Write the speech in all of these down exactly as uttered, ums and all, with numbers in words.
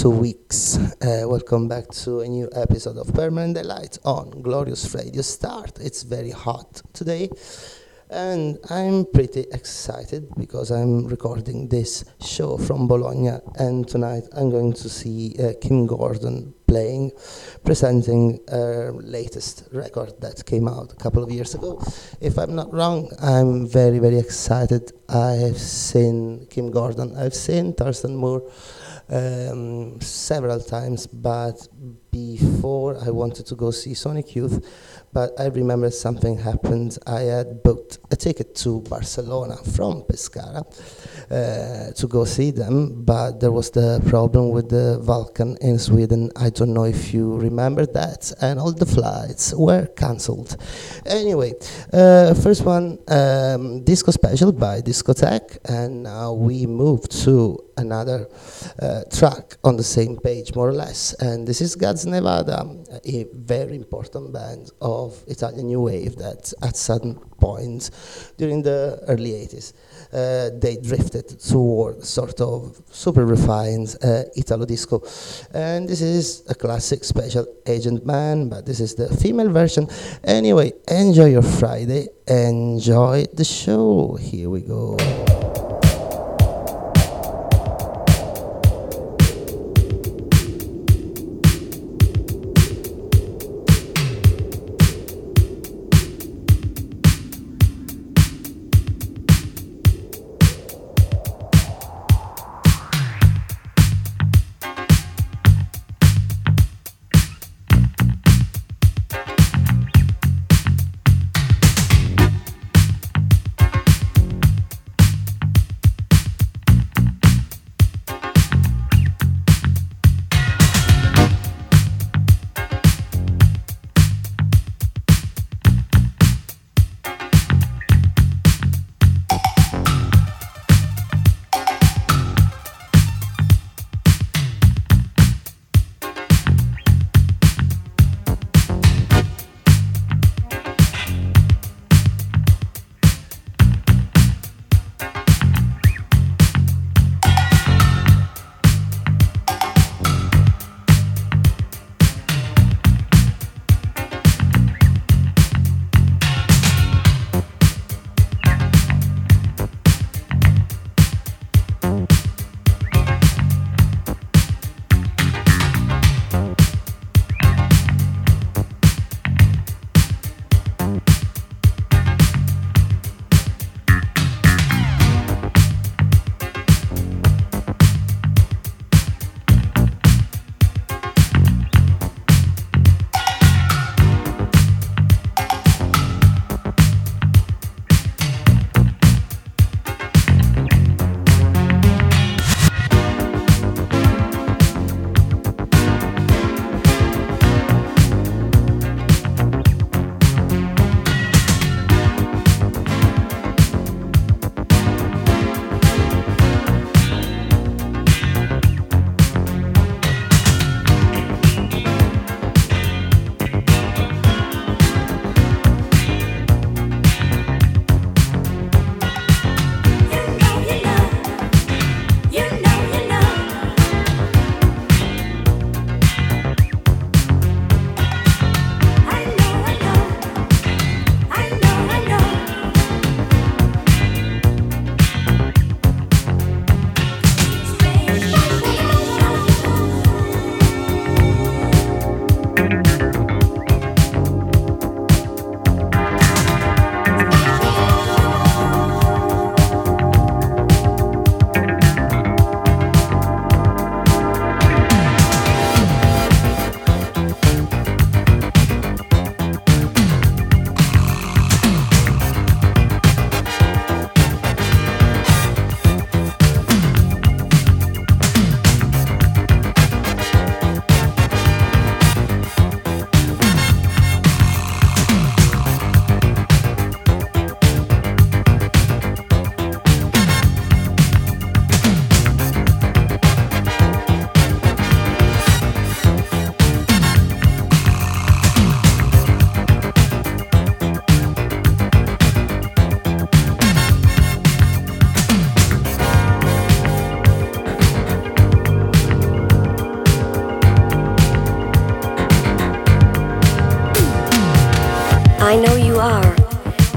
two weeks. Uh, welcome back to a new episode of Permanent Delight on Glorious Radio Start. It's very hot today, and I'm pretty excited because I'm recording this show from Bologna, and tonight I'm going to see uh, Kim Gordon playing, presenting her latest record that came out a couple of years ago. If I'm not wrong, I'm very, very excited. I have seen Kim Gordon, I've seen Thurston Moore um, several times, but before I wanted to go see Sonic Youth, but I remember something happened. I had booked a ticket to Barcelona from Pescara uh, to go see them, but there was the problem with the Vulcan in Sweden. I don't know if you remember that, and all the flights were cancelled. Anyway, uh, first one, um, Disco Special by Discotech, and now we move to another uh, track on the same page, more or less, and this is Gaz Nevada, a very important band of Italian New Wave that at certain points during the early eighties uh, they drifted toward sort of super refined uh, Italo disco, and this is a classic Special Agent Man, but this is the female version. Anyway, enjoy your Friday, enjoy the show, here we go.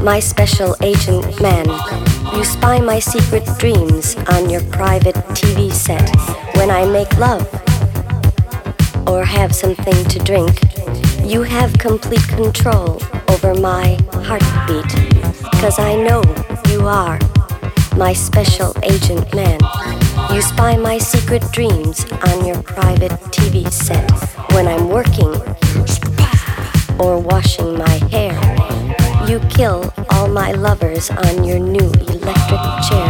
my special agent man. You spy my secret dreams on your private T V set. When I make love or have something to drink, you have complete control over my heartbeat. 'Cause I know you are my special agent man. You spy my secret dreams on your private T V set. When I'm working or washing my hair, you kill all my lovers on your new electric chair.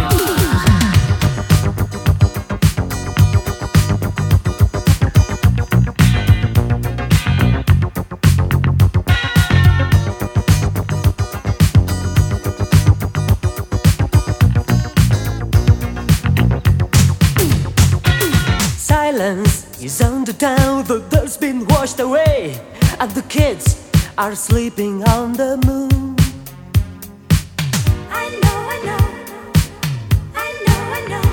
Silence is on the town, the dirt's been washed away, and the kids are sleeping on the moon. I know, I know, I know, I know.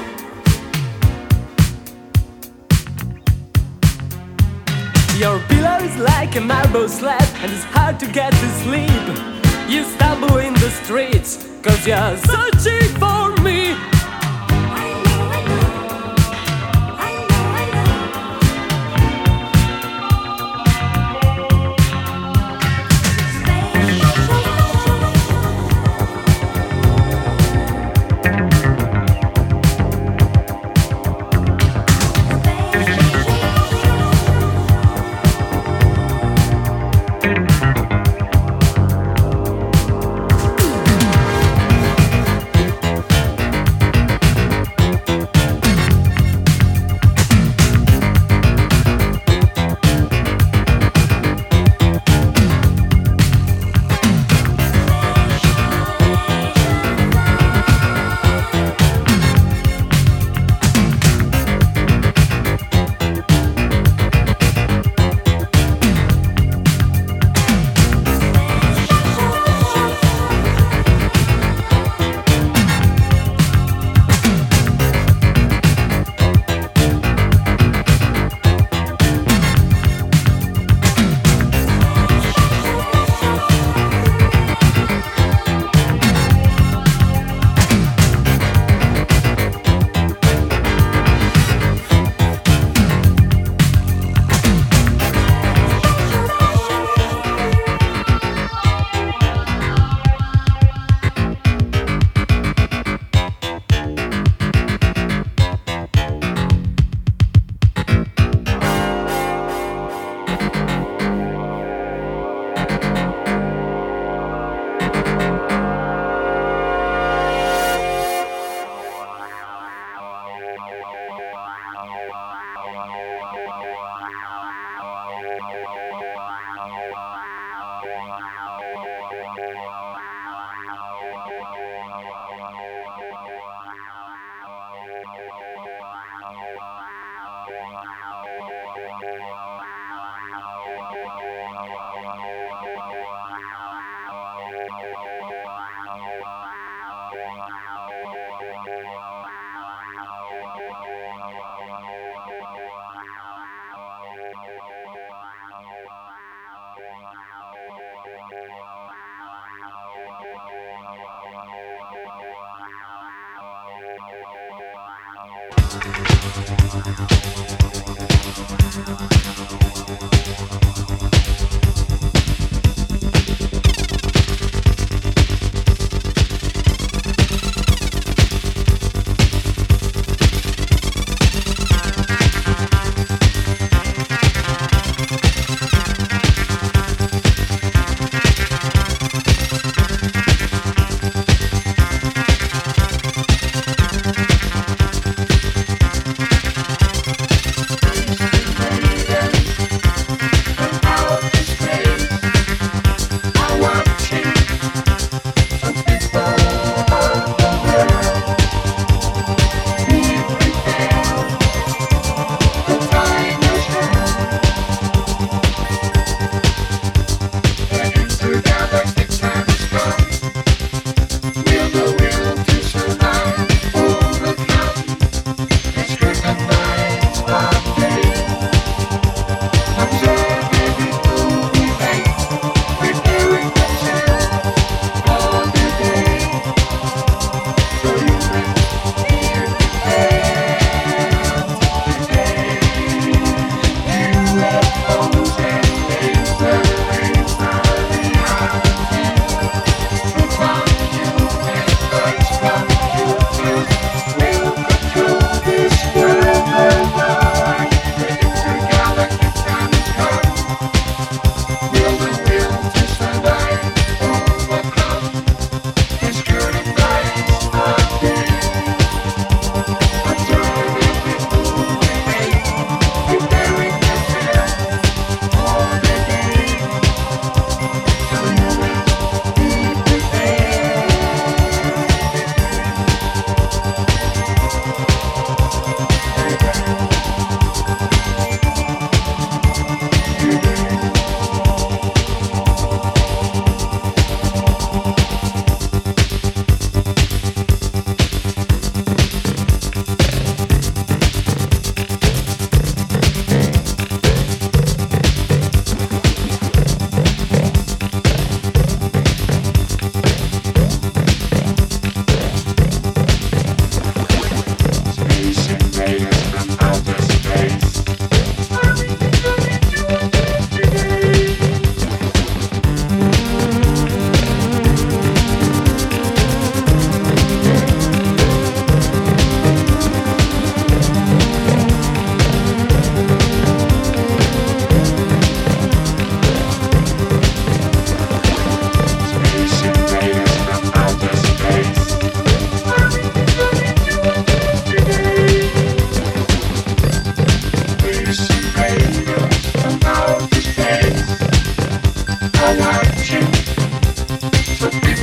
Your pillow is like a marble slab, and it's hard to get to sleep. You stumble in the streets, 'cause you're searching for me. I know, I know, I know, I know.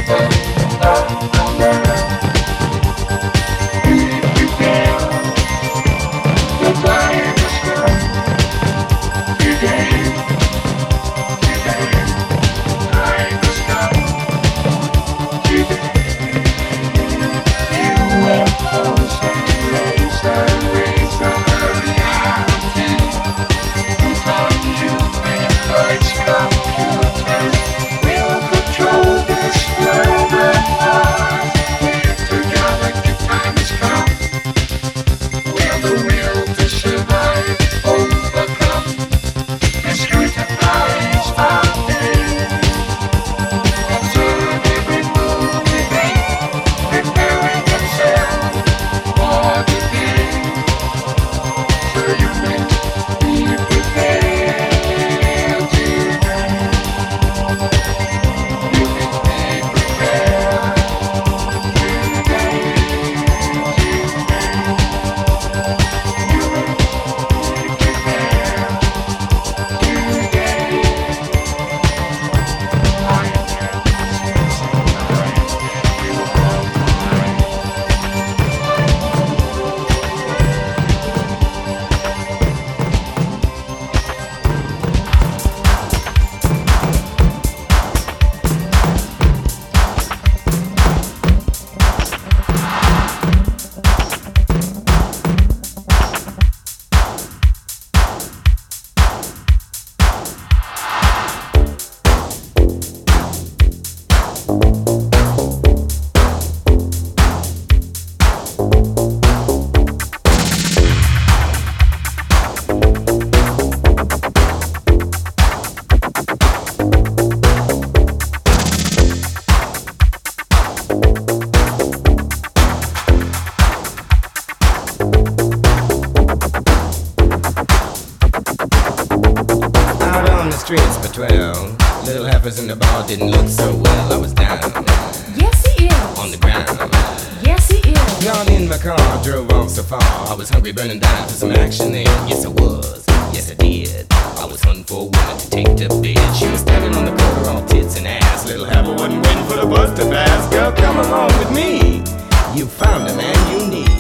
streets for twelve. Little heifers in the bar didn't look so well. I was down Yes, he is. on the ground. Yes, he is. Got in my car, drove off so far. I was hungry, burning down for some action then. Yes, I was. Yes, I did. I was hunting for a woman to take to bed. She was standing on the corner, all tits and ass. Little heifer wasn't waiting for the bus to pass. Girl, come along with me. You found the man you need.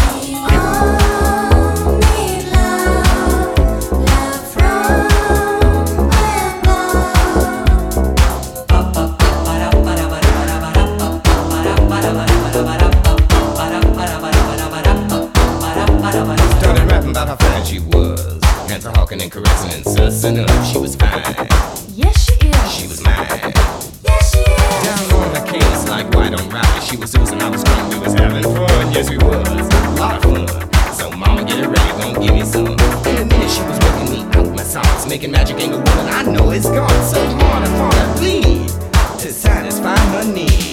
Hawking and caressing and sussing up. She was fine. Yes, she is. She was mine. Yes, she is. Down on the case like white on rice. She was oozing, I was drunk, we was having fun. Yes, we was. A lot of fun. So mama, get it ready, gon' give me some. In a minute she was working me out my socks. Making magic ain't a woman, I know it's gone. So hard I wanna bleed to satisfy her needs.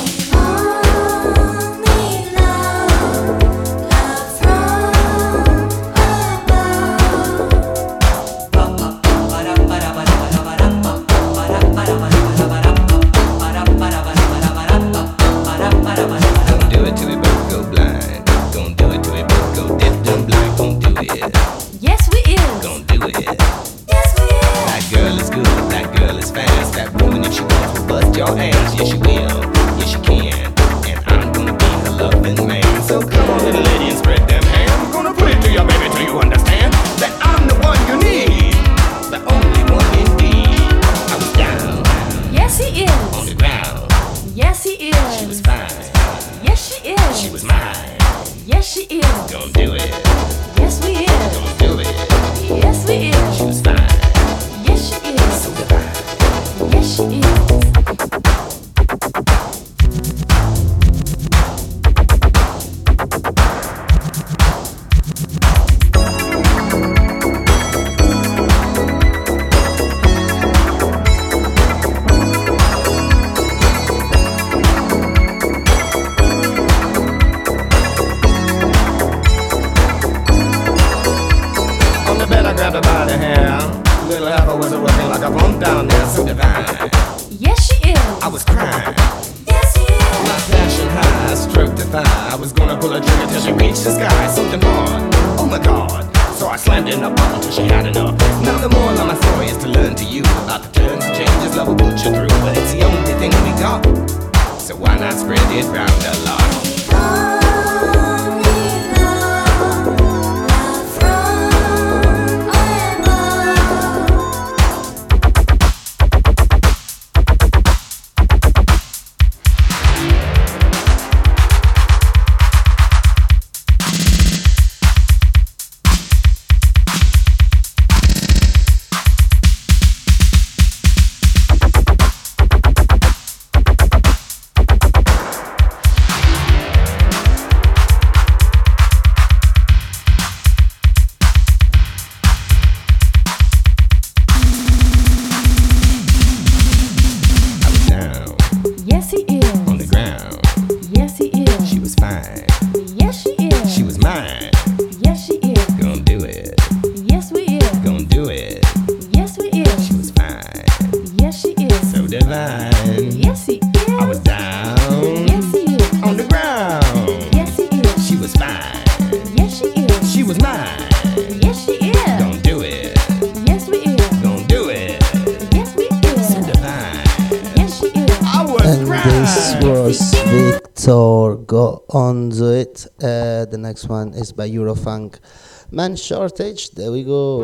Your ass, yes she will, yes she can, and I'm gonna be her loving man. So come on little lady and spread them hands. I'm gonna put it to you baby till you understand that I'm the one you need, the only one indeed. I was down, Yes, he is. on the ground. Yes, he is. She was fine, Yes, she is. she was mine. Yes, she is. Gonna do it, Yes, we is. gonna do it. Yes, we is. She was fine, Yes, she is. so divine. Yes, she is. Grabbed her by the hair. Little heifer was working like a bump down there, so divine. Yes, she is. I was crying. Yes, he is. My passion high, stroked the thigh. I was gonna pull a trigger till she reached the sky. Something hard, oh my god. So I slammed in her bottom till she had enough. Now the moral of my story is to learn to you about the turns and changes love will put you through. But it's the only thing we got. so why not spread it round a lot? Yes, he is. On the ground, Yes, he is. she was fine. Yes, she is. She was mine. Yes, she is. Gonna do it. Yes, we is. Gonna do it. Yes, we She is. was fine. Yes, she is. So divine. Yes, he is. I was down. Yes, he is. On the ground. Yes, he is. She was fine. Yes, she is. She was mine. Yes, she is. Gonna do it. Yes, we is. Gonna do it. Yes, we So is. divine. Yes, she is. I was And this right. was Victor. Go on to it. Uh, the next one is by Eurofunk. Man Shortage. There we go.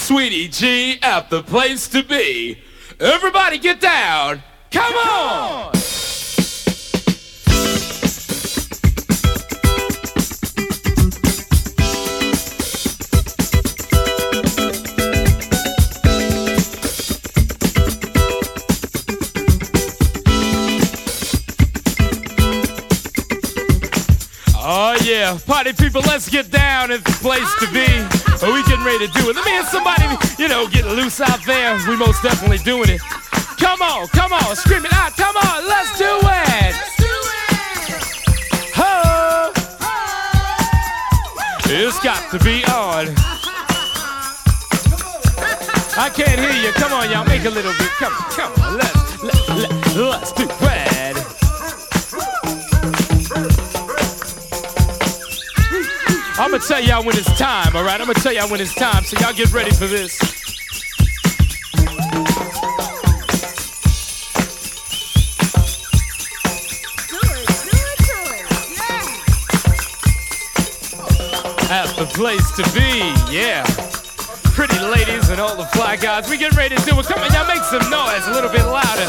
Sweetie G at the place to be. Everybody get down. Come on. Oh yeah, party people, let's get down. It's the place to be. Are we getting ready to do it? Let me hear somebody, you know, getting loose out there. We most definitely doing it. Come on, come on, scream it out. Come on, let's do it. Let's do it. Ho! It's got to be on. I can't hear you. Come on, y'all, make a little bit. Come, come on, let's let, let, let's do it. I'm gonna tell y'all when it's time, alright? I'm gonna tell y'all when it's time, so y'all get ready for this. At the place to be, yeah. Pretty ladies and all the fly guys, we get ready to do it. Come on, y'all make some noise, a little bit louder.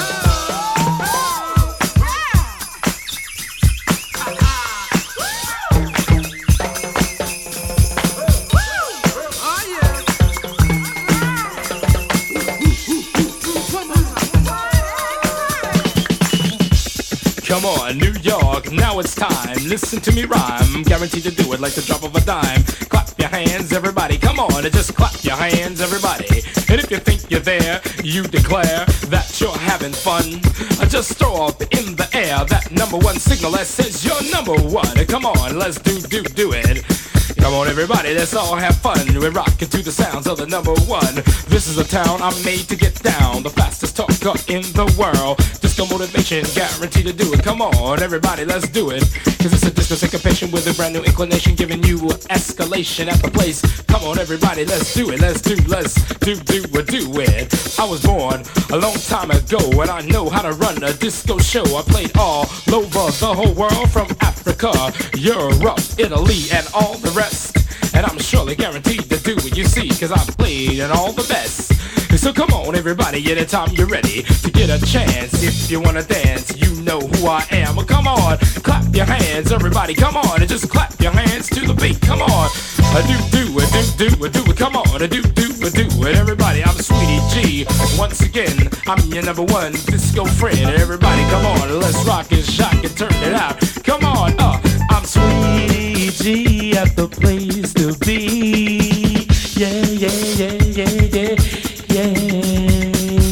Come on, New York, now it's time. Listen to me rhyme, guaranteed to do it like the drop of a dime. Clap your hands, everybody, come on, and just clap your hands, everybody. And if you think you're there, you declare that you're having fun. Just throw up in the air that number one signal that says you're number one. Come on, let's do, do, do it. Come on, everybody, let's all have fun. We're rocking to the sounds of the number one. This is a town I'm made to get down. The fastest talker in the world. Disco motivation, guaranteed to do it. Come on, everybody, let's do it. Cause it's a disco syncopation with a brand new inclination, giving you escalation at the place. Come on, everybody, let's do it. Let's do, let's do, do, do it. I was born a long time ago, and I know how to run a disco show. I played all over the whole world, from Africa, Europe, Italy, and all the rest. And I'm surely guaranteed to do what you see, cause I played in all the best. So come on, everybody, anytime you're ready to get a chance. If you wanna dance, you know who I am. Come on, clap your hands, everybody, come on, and just clap your hands to the beat. Come on, a do do a do do a do it. Come on, a do do a do it. Everybody, I'm Sweetie G. Once again, I'm your number one disco friend. Everybody, come on, let's rock and shock and turn it out. Come on, uh, I'm Sweetie G at the place to be. Yeah, yeah, yeah, yeah, yeah. Yeah.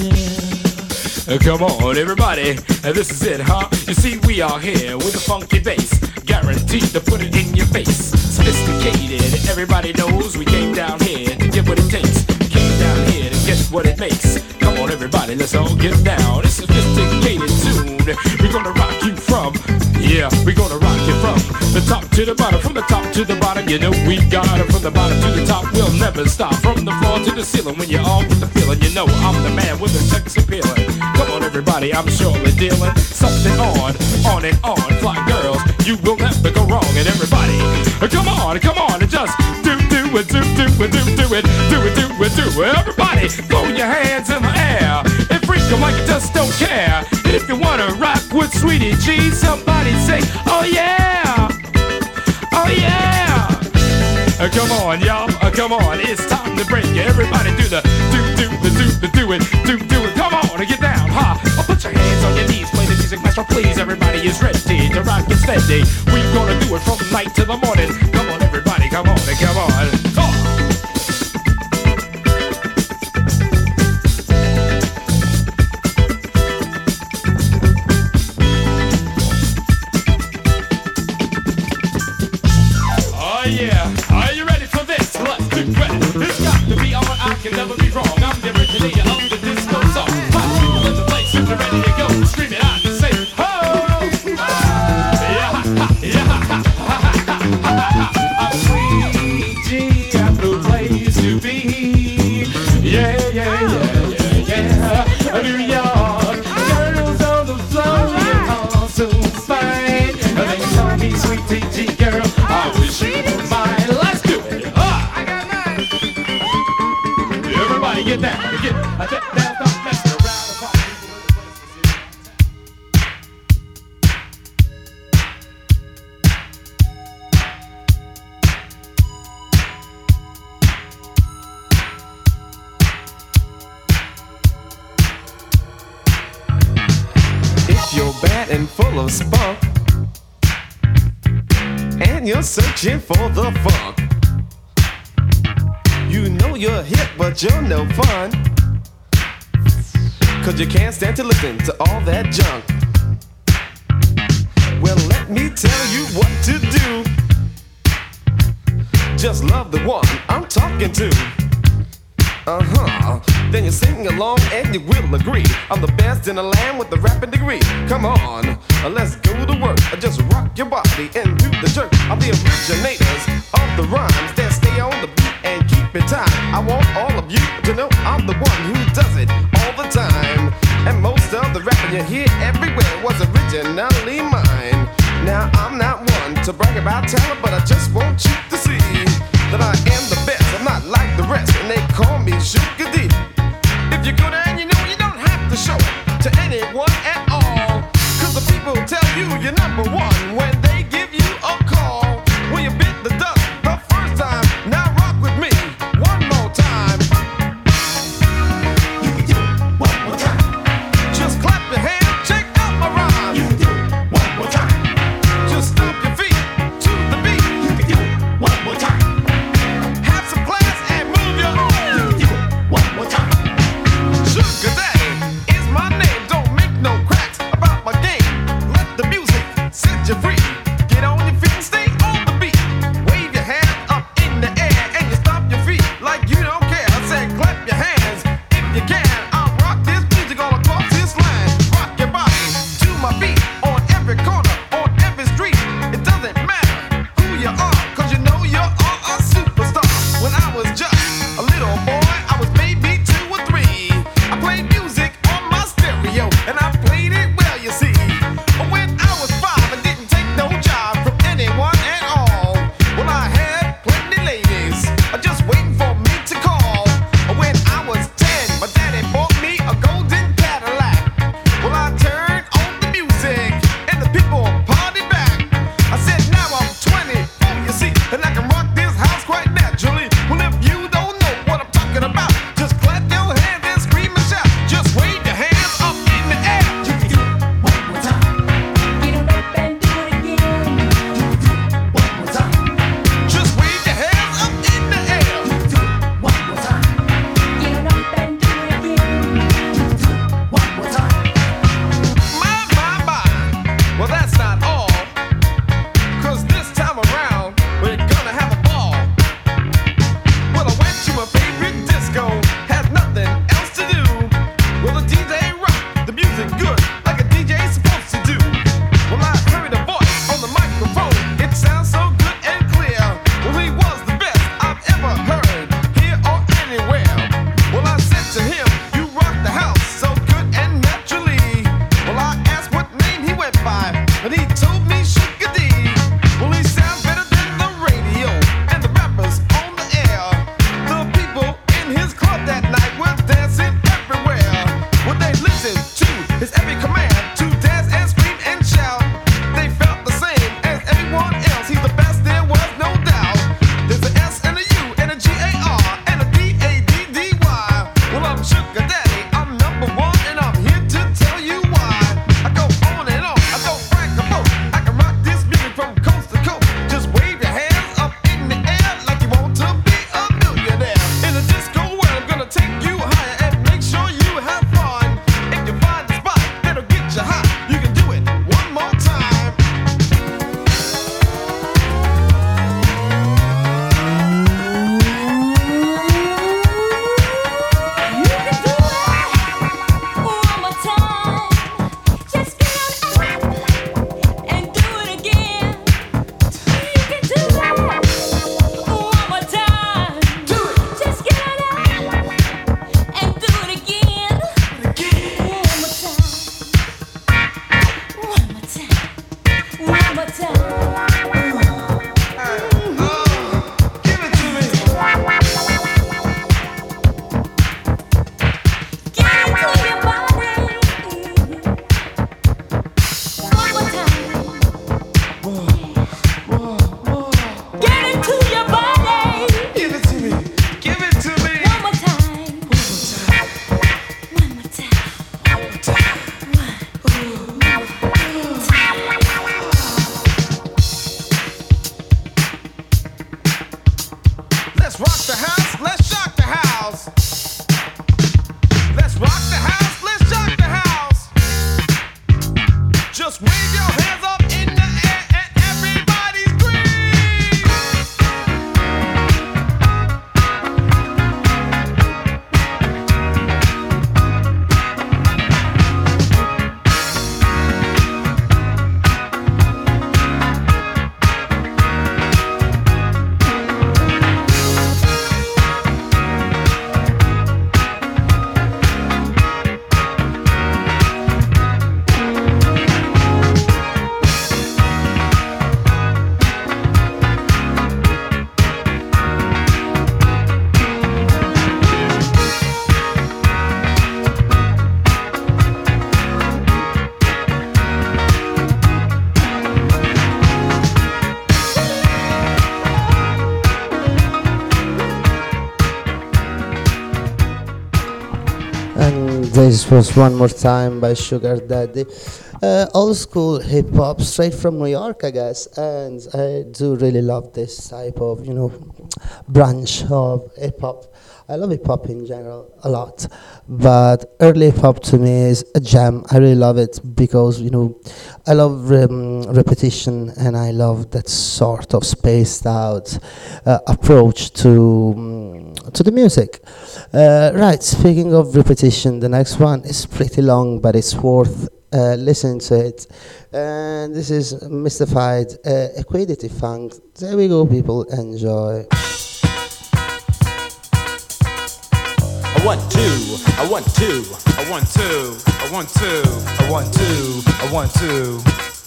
Come on, everybody, this is it, huh? You see, we are here with a funky bass, guaranteed to put it in your face. Sophisticated, everybody knows we came down here to get what it takes. Came down here to get what it makes. Come on, everybody, let's all get down. It's a sophisticated tune. We're gonna rock you from, yeah, we're gonna rock you from the top to the bottom, from the top to the bottom. You know we got it from the bottom to the top. We'll never stop, from the floor to the ceiling. When you're all with the feeling, you know I'm the man with the sex appealing. Come on, everybody, I'm surely dealing something on, on and on. Fly girls, you will never go wrong. And everybody, come on, come on, and just do, do it, do, do it, do, do it, do it, do it, do it. Everybody, throw your hands in the air and freak them like you just don't care. And if you wanna rock with Sweetie G, somebody say, oh yeah, oh yeah. Uh, come on, y'all, uh, come on, it's time to break it. Everybody do the do, do, the do, the do it, do, do it. Come on, and get down, ha. Huh? Put your hands on your knees, play the music, maestro, please. Everybody is ready to rock it steady. We gonna do it from night to the morning. Come on, everybody, come on, and come on. Oh. Can never be wrong. I'm the originator of the disco song. Hot people in the place, if you're ready to go, scream it out and say, ho! Yeah, ha, ha, yeah, ha, ha, ha, ha, ha, ha, ha. fat and full of spunk, and you're searching for the funk. You know you're hip, but you're no fun, 'cause you can't stand to listen to all that junk. Well, let me tell you what to do. Just love the one I'm talking to. Uh-huh. Then you sing along and you will agree I'm the best in the land with the rapping degree. Come on, uh, let's go to work. Uh, Just rock your body and do the jerk. I'm the originators of the rhymes that stay on the beat and keep it time. I want all of you to know I'm the one who does it all the time. And most of the rapping you hear everywhere was originally mine. Now I'm not one to brag about talent, but I just want you to see that I am the best. I'm not like the rest, and they call me Sugar D. If you're good and you know, you don't have to show it to anyone at all, 'cause the people tell you you're number one when they give you a call. When you bit the dust the first time, now rock with me one more time. You can do it one more time. Just clap your hands, check out my rhyme. You can do it one more time. Just stomp your feet to the beat. You can do it one more time. Have some class and move your arms. You can do it one more time. Sugar Daddy is my name. Don't make no cracks about my game. Let the music set you free. Get on your feet and stay on the beat. Wave your hands up in the air and you stomp your feet like you don't care. I said clap your hands if you can. I'll rock this music all across this land. Rock your body to my beat on every corner, on every street. It doesn't matter who you are, 'cause you know you are a superstar. When I was just a little boy, I was maybe two or three. I played music on my stereo, and I played it well, you see. But when I was five, I didn't take no job from anyone at all. Well, I had plenty ladies uh, just waiting for me to call. When I was ten, my daddy bought me a golden Cadillac. Well, I turned on the music, and the people partied back. I said, now I'm twenty-four, you see, and I can rock this house quite naturally. Well, if you don't know what I'm talking about, just clap your hands and scream and shout. Just wave your hands up in the air. You can do it one more time. Get it up and do it again. One more time. Just wave your hands up in the air. You can do it one more time. Get it up and do it again. One more time. My, my, my. Well, that's not all. 'Cause this time around, we're gonna have a ball. Well, I went to my favorite disco, had nothing else to do. Well, the D J rocked the music good, like a D J's supposed to do. Well, I heard a voice on the microphone. It sounds so good and clear. Well, he was the best I've ever heard, here or anywhere. Well, I said to him, you rock the house so good and naturally. Well, I asked what name he went by, and he told me Sugar D. Well, he sounds better than the radio and the rappers on the air. The people in his club that night were dancing everywhere. Well, they listened to his every command to dance and scream and shout. They felt the same as everyone else. He's the best, there was no doubt. There's an S and a U and a G A R and a D A D D Y. Well, I'm Sugar Daddy, I'm number one, and I'm here to tell you why. I go on and on, I don't brag the most. I can rock this music from coast to coast. Just wave your hands up in the air like you want to be a millionaire. In a disco world, I'm gonna take you higher and make sure you have fun. If you find the spot that'll get you hot, you can do it one more time. You can do it one more time. Just get on up and do it again. You can do it one more time. Do it Just get on up and do it again. again. One more time. One more time. One more time. Give it to me. Get into your body. One more time. Get into your body. Give it to me. Give it to me. One more time. One more time. Just wave your hands up in the air and everybody scream. And this was One More Time by Sugar Daddy. Uh, old school hip hop, straight from New York, I guess. And I do really love this type of, you know, branch of hip hop. I love hip hop in general a lot, but early hip hop to me is a gem. I really love it because, you know, I love um, repetition, and I love that sort of spaced out uh, approach to um, to the music. Uh, right, speaking of repetition, the next one is pretty long, but it's worth uh, listening to it. And this is Mystified uh, Equidity Funk. There we go, people, enjoy. I want two, I want two, I want two, I want two, I want two, I want two.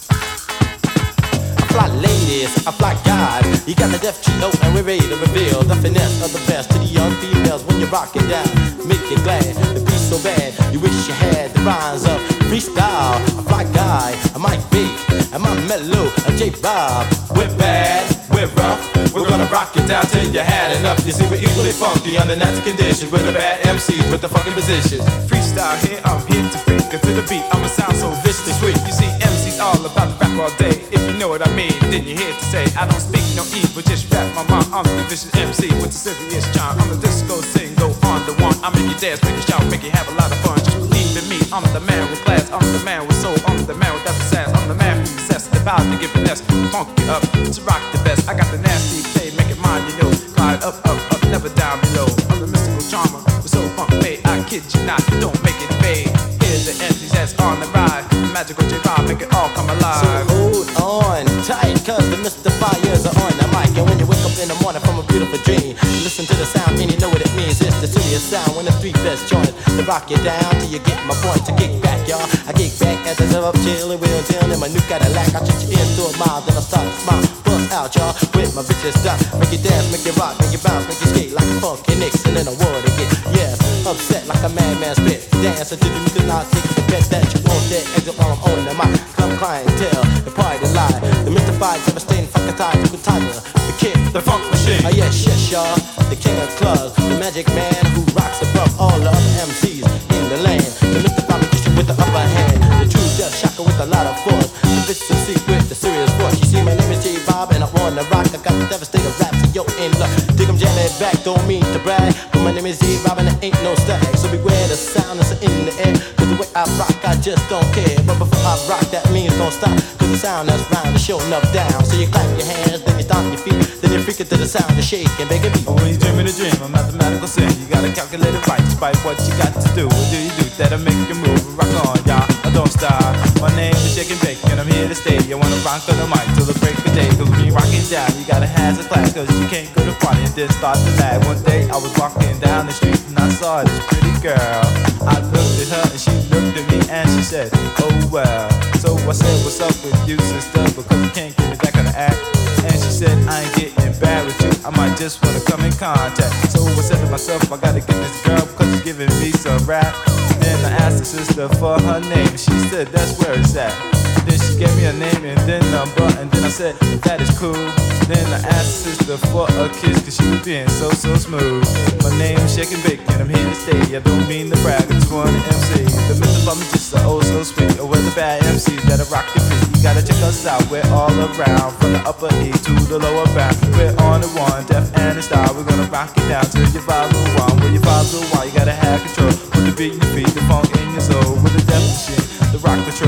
I fly ladies, I fly guys. You got the deaf trio and we're ready to reveal the finesse of the best to the young females when you're rocking down. Make you glad, the beat's so bad, you wish you had the rhymes of freestyle. I fly guy, I might be, am I mellow, I'm J Bob. We're bad, we're rough, we're gonna rock it down till you had enough. You see, we're equally funky under natural conditions. We're the bad M Cs with the fucking positions. Freestyle here, I'm here to freak. Cause to the beat, I'ma sound so viciously sweet. You see, M C's all about the rap all day. If you know what I mean, then you're here to say I don't speak no evil, just rap my mind. I'm the vicious M C with the serious charm. I'm the disco sing, go on the one. I make you dance, make you shout, make you have a lot of fun. Just believe in me, I'm the man with class. I'm the man with soul, I'm the man without the sass. I'm the man who's obsessed about to give finesse. Funk it up, to rock the best. I got the nasty play, make it mine, you know. Glide up, up, up, never down below. I'm the mystical charmer, with soul funk made. I kid you not, don't make it fade. Here's the M Cs that's on the ride. Magical J-Rob, make it all come alive. So hold on tight, cause the mystifiers are on the mic. And when you wake up in the morning from a beautiful dream, you listen to the sound and you know what it means. It's the serious sound when the three best join to rock you down till you get my point. To kick back, y'all, I kick back as I serve up chillin' wheel down in my new Cadillac. I treat you in through a mile, then I start to smile. Bust out, y'all, with my vicious style. Make you dance, make you rock, make you bounce, make you skate like a funky Nixon in a war to get. Yes, upset like a madman spit. Dance until you do not take the bet that you won't dare exit while I'm on the mic. Club clientele, the party lie. The mystified, devastating, fucking tie, the tiger, the kid, The funk machine. oh yes, yes, y'all, the king of clubs, the magic man who rocks above all the other M Cs in the land. The mystified magician with the upper hand, the true death shocker with a lot of force, the vicious secret, the serious voice. You see, my name is J Bob and I wanna rock. I got the devastating raps and yo in luck. Dig 'em, jam it back, don't mean to brag, but my name is J Bob and there ain't no stag. So beware the sound is in the air, cause the way I rock, I just don't care. But before I rock, that means don't stop, cause the sound that's round is showing up down. So you clap your hands, then you stomp your feet, then you freak it to the sound of shaking, make it beat. When you're dreaming a dream, a mathematical sim. You gotta calculate it right, despite what you got to do. What do you do that'll make you move? Rock on, y'all, I don't stop. My name is Shake and Bake, and I'm here to stay. You wanna rock on the mic till the break of day. Cause when you rockin' down, you gotta have a class, cause you can't go to party and then start to lag. One day I was walking down the street and I saw this pretty girl. I looked at her and she looked at me and she said, oh well. So I said, what's up with you, sister? Because you can't give me that kind of act. And she said, I ain't getting bad with you, I might just wanna come in contact. So I said to myself, I gotta get this girl because she's giving me some rap. Then I asked the sister for her name, she said that's where it's at. Then she gave me a name and then number, and then I said, that is cool. Then I asked the sister for a kiss, cause she was being so, so smooth. My name is Shake and Bake, and I'm here to stay. I don't mean to brag, I just wanna M C. The myth of me just are oh so sweet. Or we're the bad M Cs that are rock your feet. You gotta check us out, we're all around. From the upper E to the lower bound. We're on the one, deaf and the style. We're gonna rock it down till you follow one. When you follow one, you gotta have control. With the beat in your feet, the funk in your soul. With the deaf machine, the rock control. I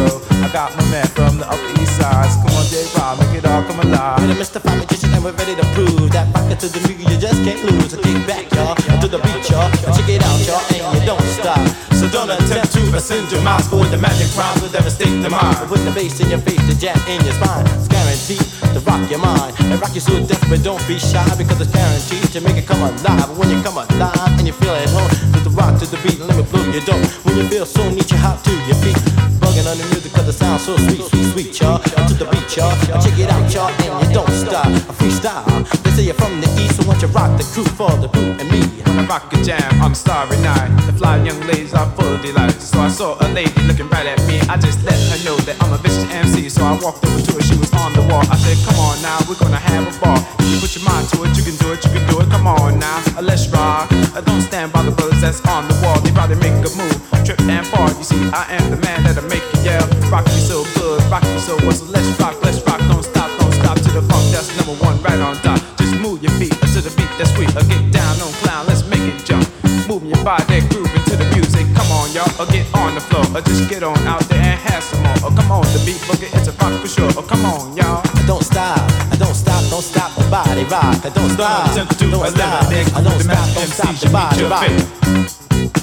got my man from the Upper East Side. So come on, J-Rob, make it all come alive. We're the Mystify magician and we're ready to prove that rocket to the music you just can't lose. So kick back, y'all, to the beat, y'all, and check it out, y'all, and you don't stop. So don't attempt to ascend your minds, for the magic rhymes will devastate the mind. Put the bass in your face, the jam in your spine. It's guaranteed to rock your mind and rock you so deaf, but don't be shy because it's guaranteed to make it come alive. When you come alive and you feel at home, with the rock to the beat, let me blow your dome. When you feel so neat, you hop to your feet, bugging on the music 'cause it sounds so sweet, sweet, sweet, y'all. To the beat, y'all. Check it out, y'all, and you don't stop. A freestyle. They say you're from the east, so once you rock the crew for the boot and me. When I rock a jam on a starry night, the fly young ladies are full of delight. So I saw a lady looking right at me. I just let her know that I'm a vicious M C. So I walked over to her, she was on the wall. I said, come on now, we're gonna have a ball. If you put your mind to it, you can do it, you can do it. Come on now, uh, let's rock. Uh, don't stand by the brothers that's on the wall. They probably make a move, trip and fall. You see, I am the man that'll make you yell. Rock me so good, rock me so well. So let's rock, let's rock. Don't stop, don't stop to the funk. That's number one right on top. Just move your feet uh, to the beat that's sweet. Uh, get down, don't clown, let's make it jump. Moving your body, grooving to the music. Come on, y'all, uh, get on the floor. Uh, just get on out there and have some more. Oh, come on, the beat boogie, it's a rock for sure. Oh, come on, y'all. I don't stop, I don't stop, don't stop the body rock. I don't stop, Don't attempt to don't stop, eliminate I don't the stop, master don't M C stop the should body meet your rock. fate.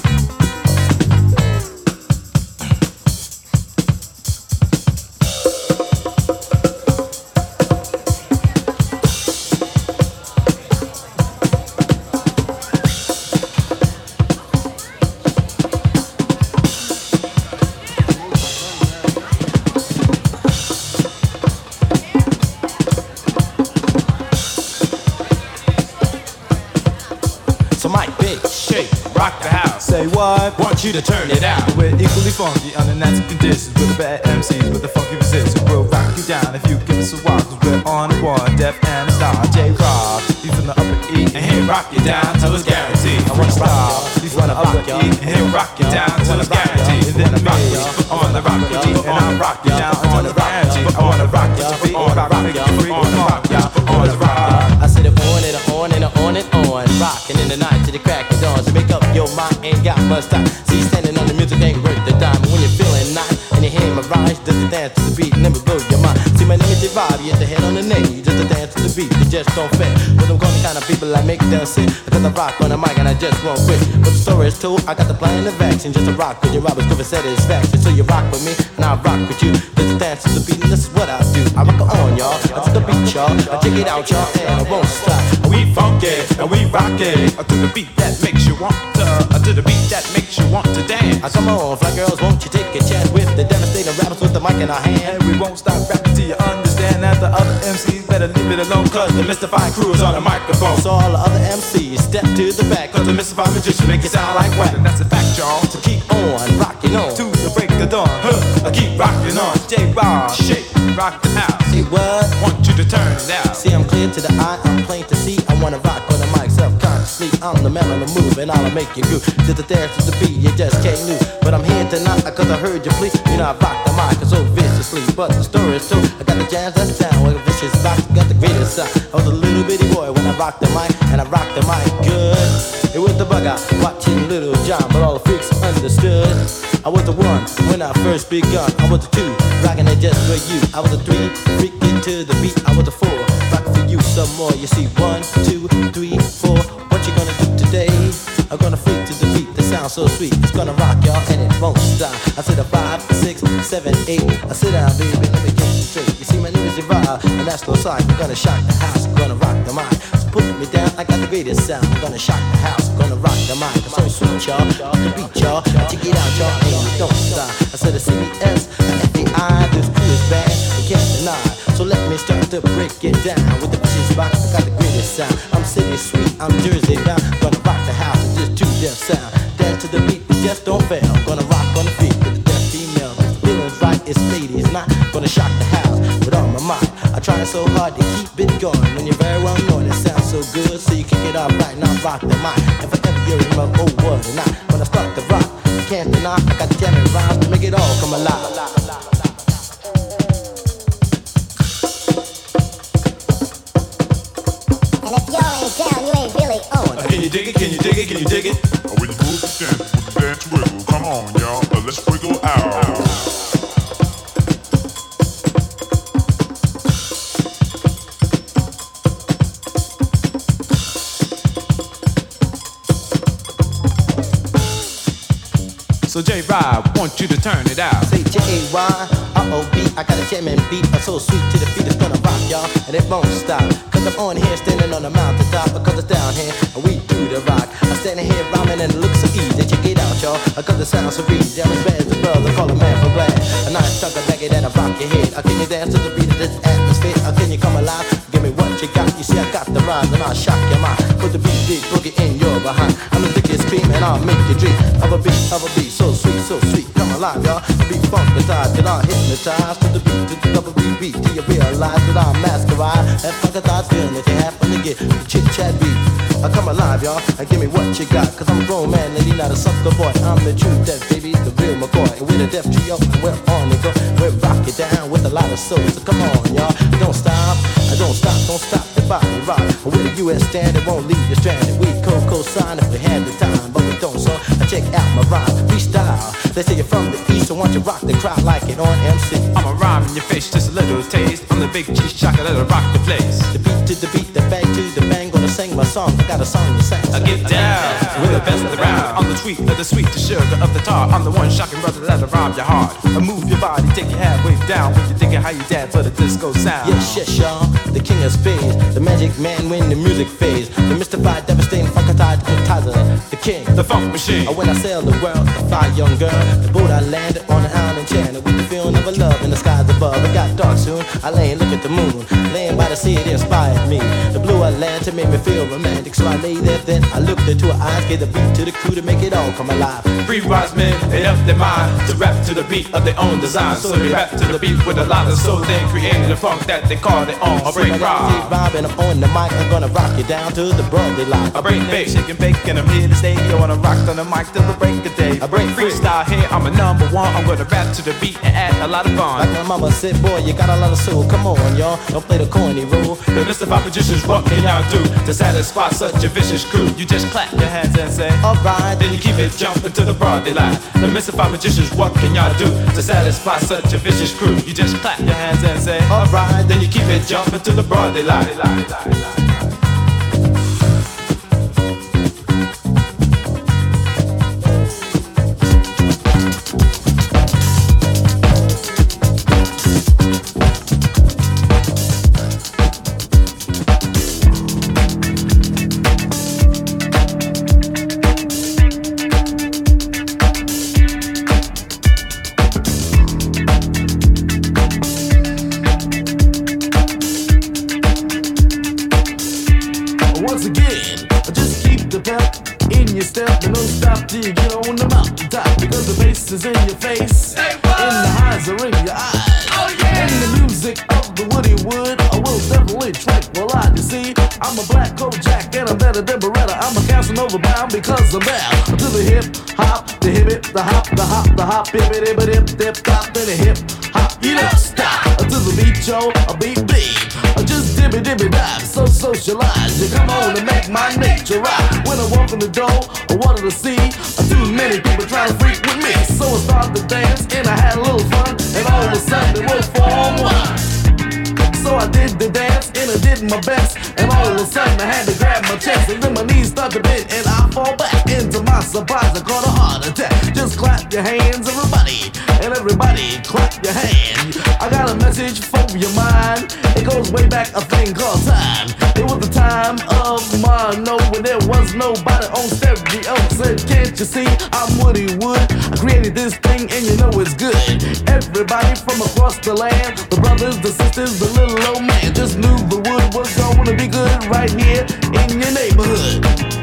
So Mike, big Shake, rock the house. Say what? Want you to turn it out. We're equally funky under natural conditions with the bad M Cs with the funky position. We'll rock you down if you give us a walk. Cause we're on the one, deaf and a star. J-Rob, he's from the upper E. And he'll rock you down till it's guaranteed. I wanna rock Star, y'all. he's from the upper E. And he'll rock you down till it's guaranteed. And then me, On the rock, and I'll rock you down on the guarantee. I wanna rock you to be on the rock, make you free to rock you on the rock. I said it on and on and on and on, rocking in the night to the crack of dawn. So make up your mind, ain't got much time. See, standing on the music ain't worth the dime. When you're feeling nice and you hear my rhymes, just to dance to the beat, never blow your mind. See, my name is J-Rob, you hit the head on the name, you just to dance to the beat, you just don't fit. But I'm calling the kind of people I make them sit, because I rock on the mic and I just won't quit. But the story is told, I got the plan and the vaccine, just to rock with you, Robert's give a satisfaction. So you rock with me, and I rock with you, just to dance to the beat, and this is what I do. I rock it on, y'all, I to the beat, y'all, I check it out, y'all, and I won't stop. We funky and we rock it. To the beat that makes you want to. To the beat that makes you want to dance. I come on, fly girls, won't you take a chance with the devastating rappers with the mic in our hand? And we won't stop rapping till you understand that the other M Cs better leave it alone. Cause the mystifying crew is on the microphone. So all the other M Cs step to the back, Cause the mystifying magician make it sound like whack. And that's a fact, y'all. so keep on rocking on. To the break of dawn. Huh, I keep rocking on. J-Rob, Shake, rock the house. See what? Want you to turn it out. See, I'm clear to the eye, I'm plain to see. I wanna rock on the mic self-consciously. I'm the man on the move, and I'll make you groove. To the dance to the beat, you just can't lose. But I'm here tonight, cause I heard you plea. You know I rock the mic so viciously. But the story is true, I got the jams that's down. With a vicious rock, got the greatest sound. I was a little bitty boy when I rocked the mic, and I rocked the mic good. It was the bug out, watching Little John, but all the freaks understood. I was the one when I first begun. I was the two, rocking it just for you. I was the three, freaking to the beat. I was the four, rocking for you some more. You see, one, two, three, four. What you gonna do today? I'm gonna freak to the beat that sounds so sweet. It's gonna rock y'all and it won't stop. I said a five, six, seven, eight. I sit down, baby, let me get you straight. You see, my name is J-Rob, and that's no sign. I'm gonna shock the house, I'm gonna rock the mic. So put me down, I got the greatest sound. I'm gonna shock the house, I'm gonna rock the mic. I'm so sweet, y'all. The beat, y'all. Check it out, y'all, and you don't stop. I said a C B S, an F B I, this crew is bad, I can't deny. So let me start to break it down. With the vicious rock, I got the greatest sound. I'm city sweet, I'm Jersey bound. Gonna rock the house, it's just two deaf sound. Dance to the beat, but just don't fail. Gonna rock on the beat with the deaf female. The feeling's right, it's ladies, not gonna shock the house with all my might. I try so hard to keep it going. When you're very well known, it sounds so good. So you kick it off right now, rock the mic. If I ever hear in my old word or not, when I start to rock, you can't deny. I got jamming rhymes to make it all come alive. And if y'all ain't down, you ain't really on. Uh, Can you dig it? Can you dig it? Can you dig it? Uh, When you move the dance with the dance wiggle, come on, y'all, uh, let's wiggle out. So J-Rob, want you to turn it out. Say J A Y R O B, I got a jam and beat, uh, so sweet to the beat, it's gonna rock, y'all, and it won't stop. Cause I'm on here standing on the mountaintop, because it's down here, and we do the rock. I'm standing here rhyming and it looks so easy, check it out, y'all, cause it sounds so easy. I'm as bad as the brother, call a man from glass. A nice chunk of reggae that'll rock your head. Uh, can you dance to the beat of this atmosphere? Uh, can you come alive? Give me what you got. You see, I got the rhymes and I'll shock your mind. Put the beat, beat, boogie in your behind. I'm the thickest scream and I'll make you dream of a beat, of a beat, so sweet, so sweet. Come alive, y'all. The beat funkatized, till I'm hypnotized. To the beat, to the double beat, beat, till you realize that I'm masquerade. That funkatized feeling that you happen to get, the chit chat beat. I come alive, y'all, and give me what you got. Cause I'm a grown man, lady, not a sucker boy. I'm the true death, baby, the real McCoy. And we're the deaf trio, and we're on the go. We're rock it down with a lot of soul. So come on, y'all, don't stop, I don't stop, don't stop the body rock. We're the U S standard, won't leave you stranded. We co-co-sign if we had the time, but we don't, so I check out my rhyme, freestyle. They say you're from the east, so why don't you rock the crowd like it on M C? I'ma rhyme in your face, just a little taste. I'm the big cheese shocker that'll rock the place. The beat to the beat, the bang to the bang, gonna sing my song. I got a song to sing. I get down with the best of the round. I'm the sweet of the sweet, the sugar of the tar. I'm the one shocking brother that'll rob your heart. I move your body, take your halfway down. When you're thinking how you dance for the disco sound. Yes, yes, y'all, the king of spades, the magic man when the music fades, the mystified, devastating, funkatized, hypnotizer, the king, the funk machine. When I sail the world, the fly young girl, the boat I landed on an island enchanted with the feeling of a love in the skies above. It got dark soon, I lay and look at the moon, laying by the sea, it inspired me. The blue Atlantic made me feel romantic, so I lay there, then I looked into her eyes, gave the beat to the crew to make it all come alive. Three wise men, they up their mind to rap to the beat of their own design. So they rap to the beat with a lot of soul, then created a funk that they call their own. I break rock, and I'm on the mic, I'm gonna rock you down to the Broadway line. I break bake, shake and bake, and I'm here to stay. You wanna rock on the mic till the break of day. I break freestyle here, I'm a number one. I'm gonna rap to the beat and add a lot of fun. Like my mama said, boy, you got a lot of soul. Come on, y'all, don't play the corny rule. The mystified magicians, what can y'all do to satisfy such a vicious crew? You just clap your hands and say, alright. Then you keep it jumping to the broad daylight. The mystified magicians, what can y'all do to satisfy such a vicious crew? You just clap your hands and say, alright. Then you keep it jumping to the broad daylight. is in your face, and the highs are in your eyes. Oh, yeah. And the music of the Woody Wood I will definitely tranquilize. You see, I'm a black Kojak and I'm better than Beretta. I'm a Casanova bound because I'm down to the hip hop, the hip it, the hop, the hop, the hop, hip it, hip it, hip, hip, hop, and the hip hop. You don't stop until the beat, yo, a beat beat. Just dibby dibby dive, so socialize. You come on and make my nature right. When I walk in the door, I wanted to see too many people trying to freak with me. So I started to dance and I had a little fun, and all of a sudden it was form one. So I did the dance and I did my best, and all of a sudden I had to grab my chest, and then my knees started to bend and I fall back. Into my surprise, I caught a heart attack. Just clap your hands, everybody, and everybody clap your hand. I got a message for your mind. It goes way back, a thing called time. It was the time of mono when there was nobody on stereo. Said, can't you see I'm Woody Wood? I created this thing and you know it's good. Everybody from across the land, the brothers, the sisters, the little old man, just knew the wood was gonna be good right here in your neighborhood.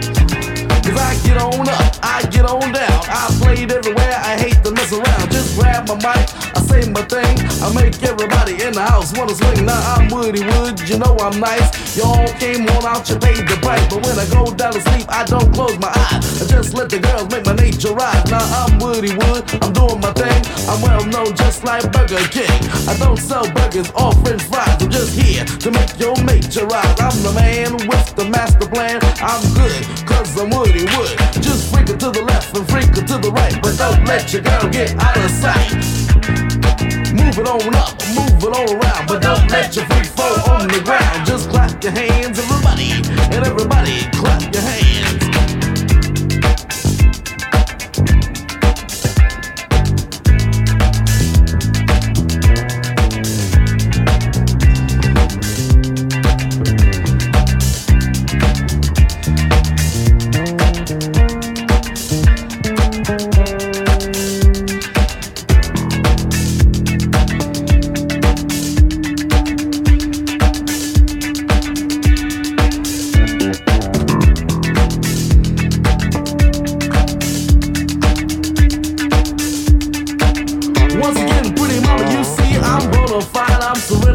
Cause I get on up, I get on down. I played everywhere, I hate to mess around. Just grab my mic, I say my thing, I make everybody in the house wanna swing. Now I'm Woody Wood, you know I'm nice. Y'all came on out, you paid the price. But when I go down to sleep, I don't close my eyes. I just let the girls make my nature rise. Now I'm Woody Wood, I'm doing my thing. I'm well known just like Burger King. I don't sell burgers or french fries. I'm just here to make your nature rise. I'm the man with the master plan. I'm good, cause I'm Woody Wood. Just freak it to the left and freak it to the right, but don't let your girl get out of sight. Move it on up, move it all around, but don't let your freak fall on the ground. Just clap your hands, everybody, and everybody clap your hands.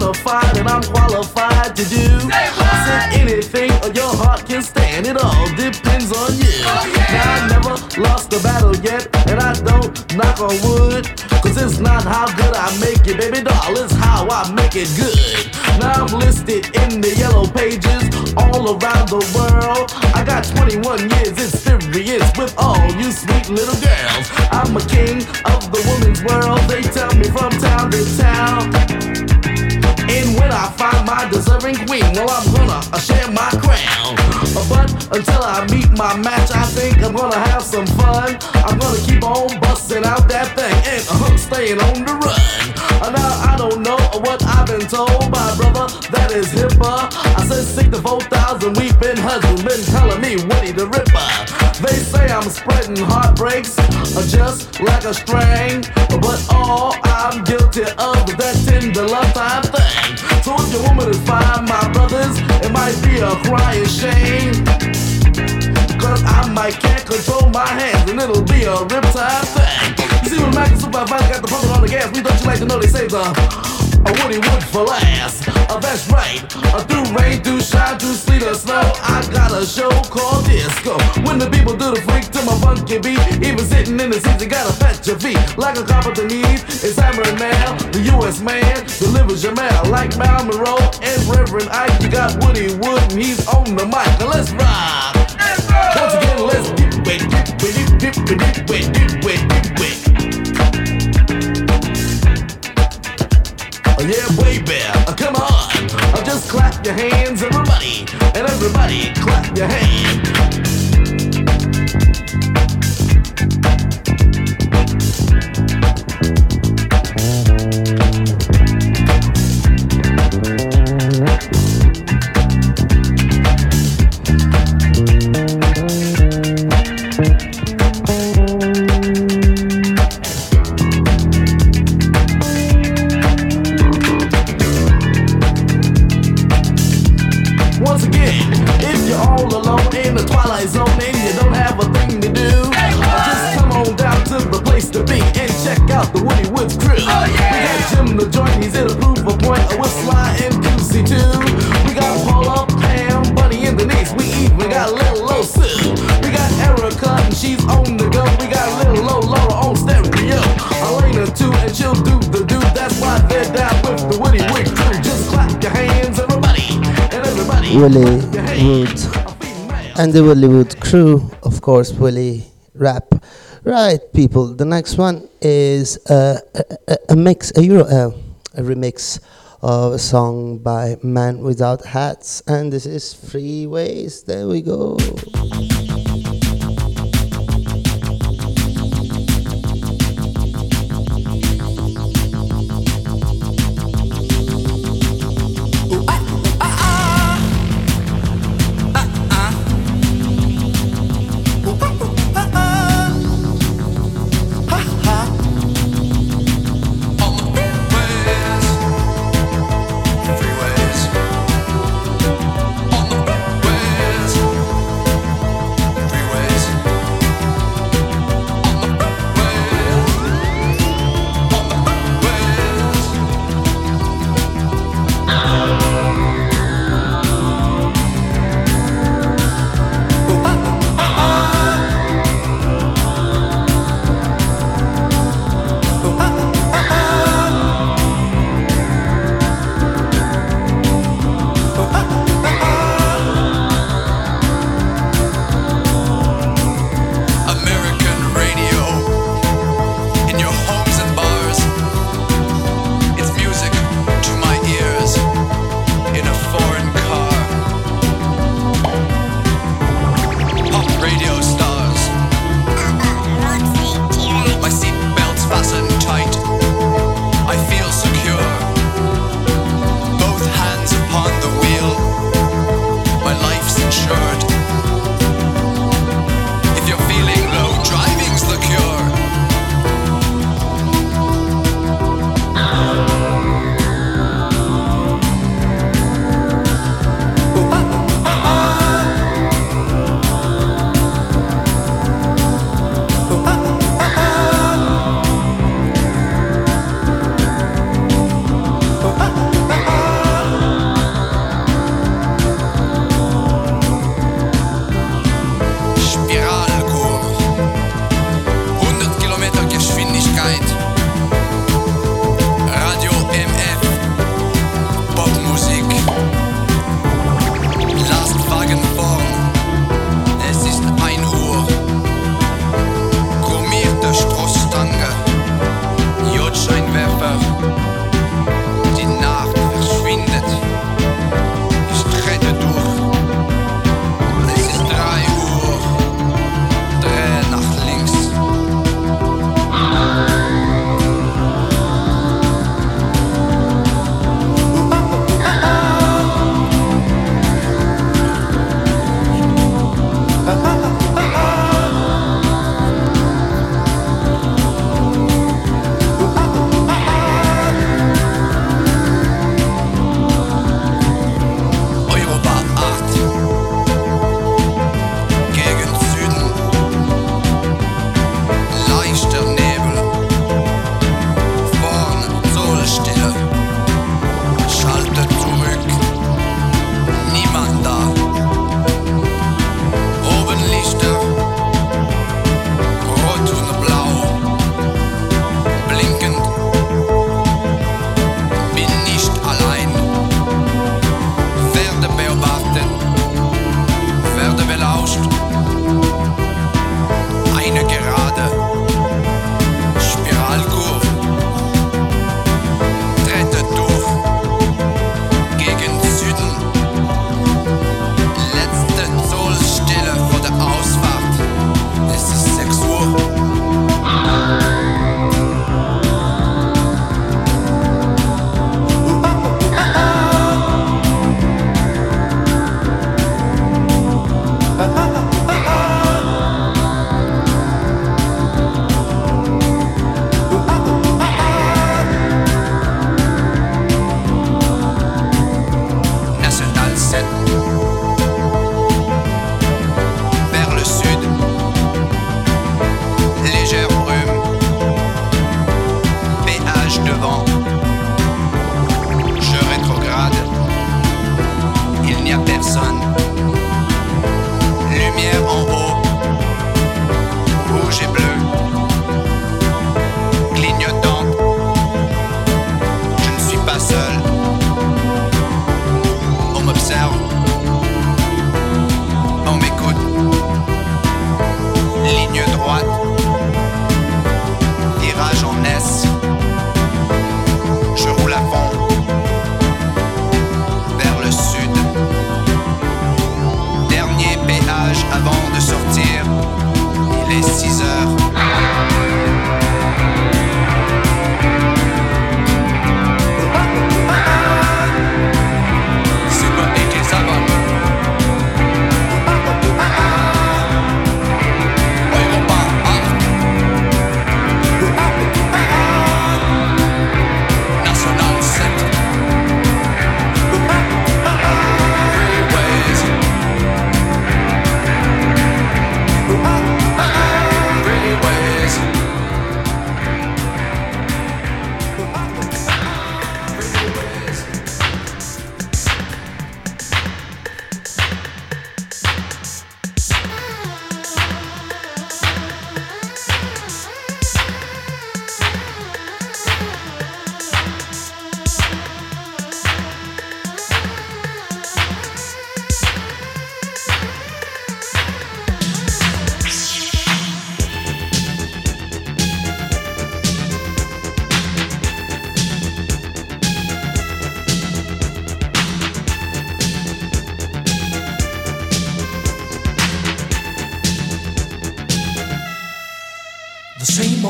certified and I'm qualified to do. I said anything your heart can stand, it all depends on you. Now I never lost a battle yet, and I don't knock on wood, cause it's not how good I make it, baby doll, it's how I make it good. Now I'm listed in the yellow pages all around the world. I got twenty-one years experience with all you sweet little girls. I'm a king of the woman's world, they tell me from town to town. And when I find my deserving queen, well, I'm gonna uh, share my crown. Uh, but until I meet my match, I think I'm gonna have some fun. I'm gonna keep on busting out that thing and uh, staying on the run. Uh, now, I don't know what I've been told by a brother that is hipper. I said sixty-four thousand weeping husbands been telling me Woody the Ripper. They say I'm spreading heartbreaks uh, just like a string, but all I'm guilty of is that tender love time thing. So if your woman is fine, my brothers, it might be a crying shame, cause I might can't control my hands and it'll be a riptide thing. You see when Mac and Supervisor got the pumping on the gas, we don't you like to know they say the a Woody Wood for last. Uh, that's right, uh, through rain, through shine, through sleet or snow, I got a show called Disco. When the people do the freak to my funky beat, even sitting in the seats, you gotta fetch your feet. Like a carpenter needs, it's hammering now. The U S man delivers your mail. Like Mal Monroe and Reverend Ike, you got Woody Wood and he's on the mic. Now let's rock. Once again, let's dip it, dip it, dip it, dip it, dip it, dip it, dip it. Oh yeah, baby, uh, come on, uh, just clap your hands, everybody, and everybody clap your hands. Willie Wood and the Willie Wood crew, of course, Willie Rap. Right, people, the next one is uh, a, a, a mix, a Euro, uh, a remix of a song by Man Without Hats, and this is Freeways. There we go. Freeways.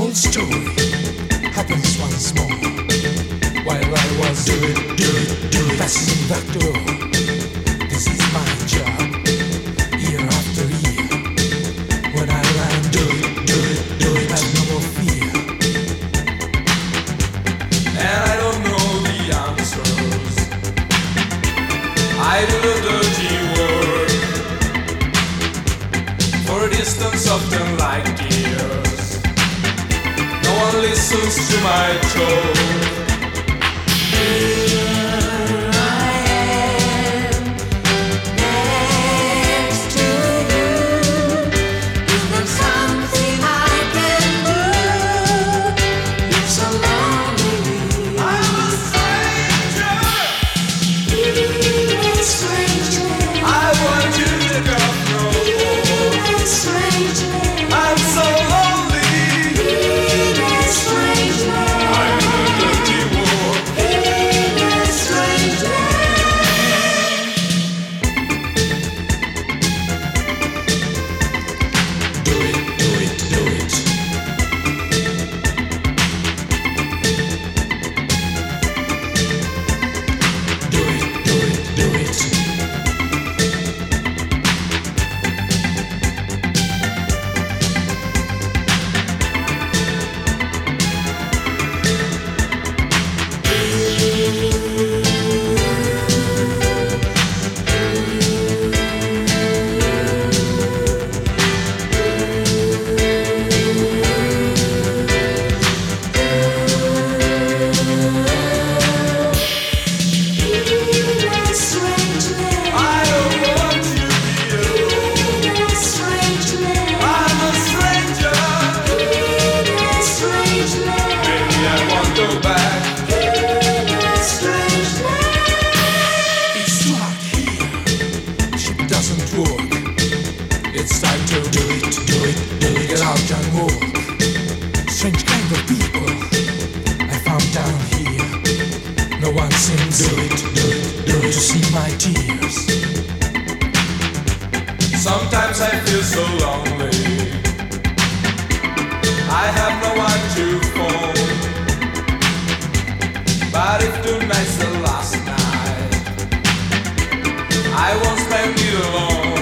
old story happens once more. While I was doing, doing, doing, passing back the road. This is my job, year after year. When I land, do it, do it, do it, have no more fear. And I don't know the answers. I do the dirty work for a distance of ten light years. No one listens to my talk. Sometimes I feel so lonely. I have no one to phone. But if tonight's the last night, I won't spend it alone.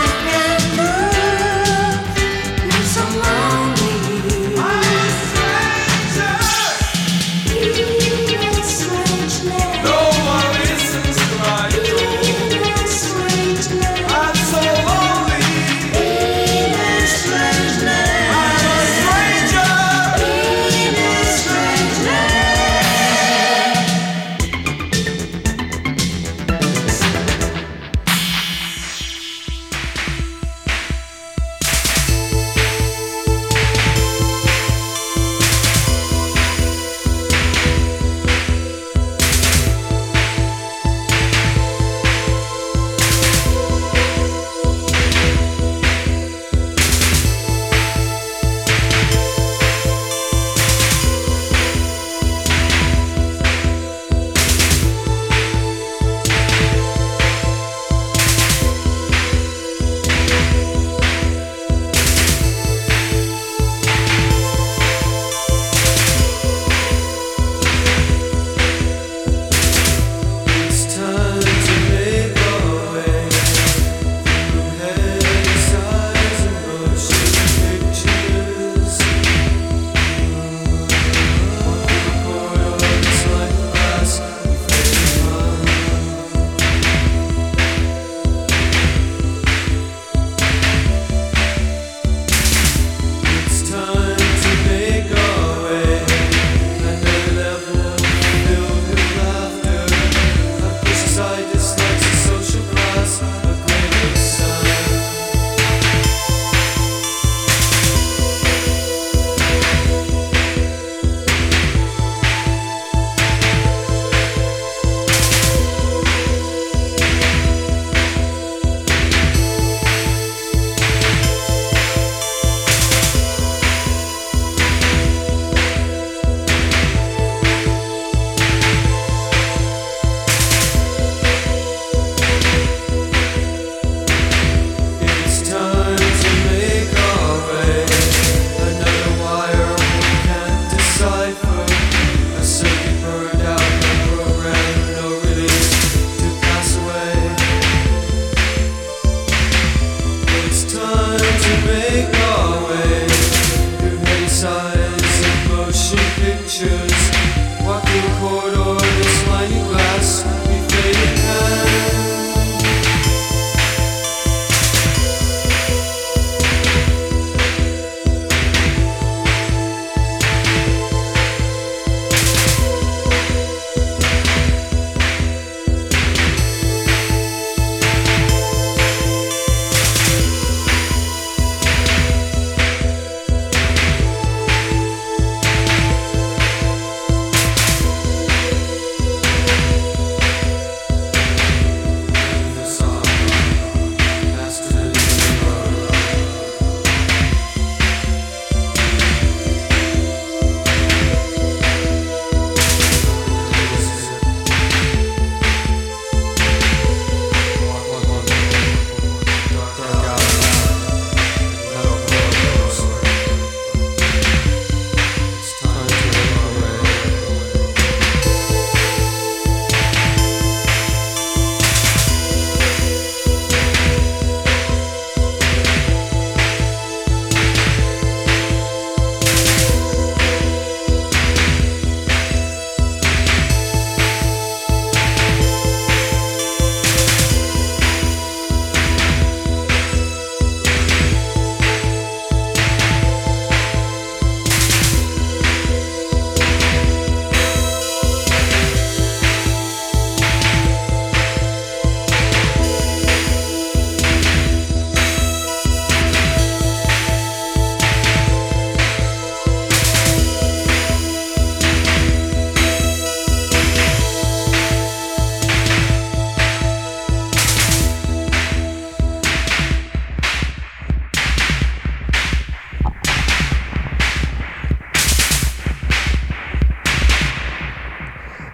Something I can do. You're so lonely.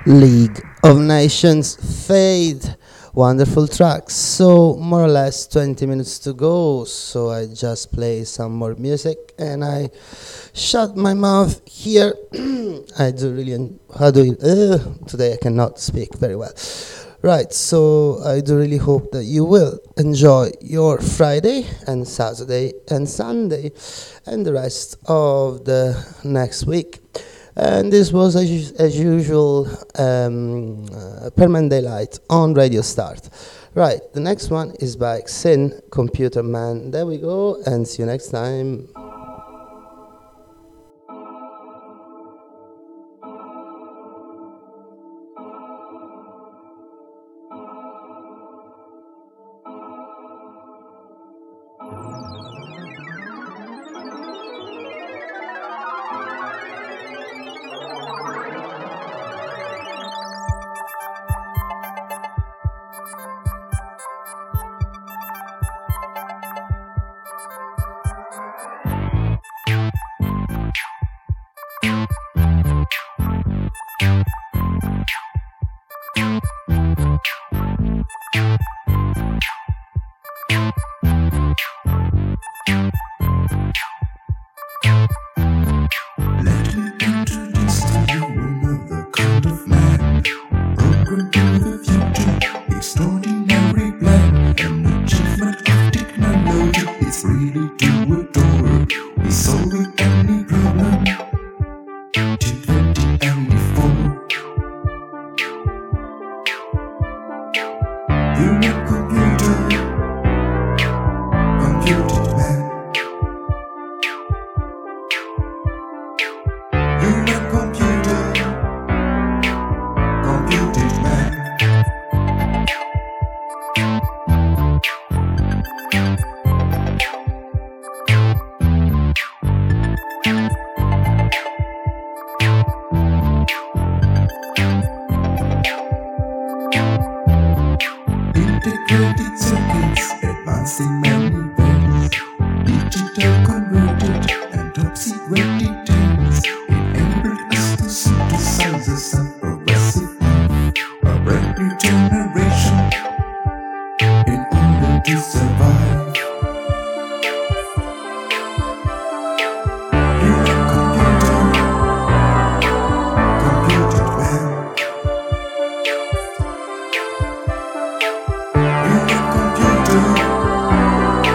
League of Nations, Fade. Wonderful track. So more or less twenty minutes to go, so I just play some more music and I shut my mouth here. I do really en- how do you uh, today I cannot speak very well. Right, so I do really hope that you will enjoy your Friday and Saturday and Sunday and the rest of the next week. And this was, as, us- as usual, um, uh, Permanent Daylight on Radio Start. Right, the next one is by Xin, Computer Man. There we go, and see you next time. Extraordinary plan, an achievement of technology. It's really to adore. It's solving any problem. T twenty and before. You're a computer, computer man. You're a computer, computer man. Integrated circuits, advancing many ways. Digital converted and top secret details enabled us to synthesize a progressive life, a brand new generation in order to survive. You're a computer, computer man. You're a computer,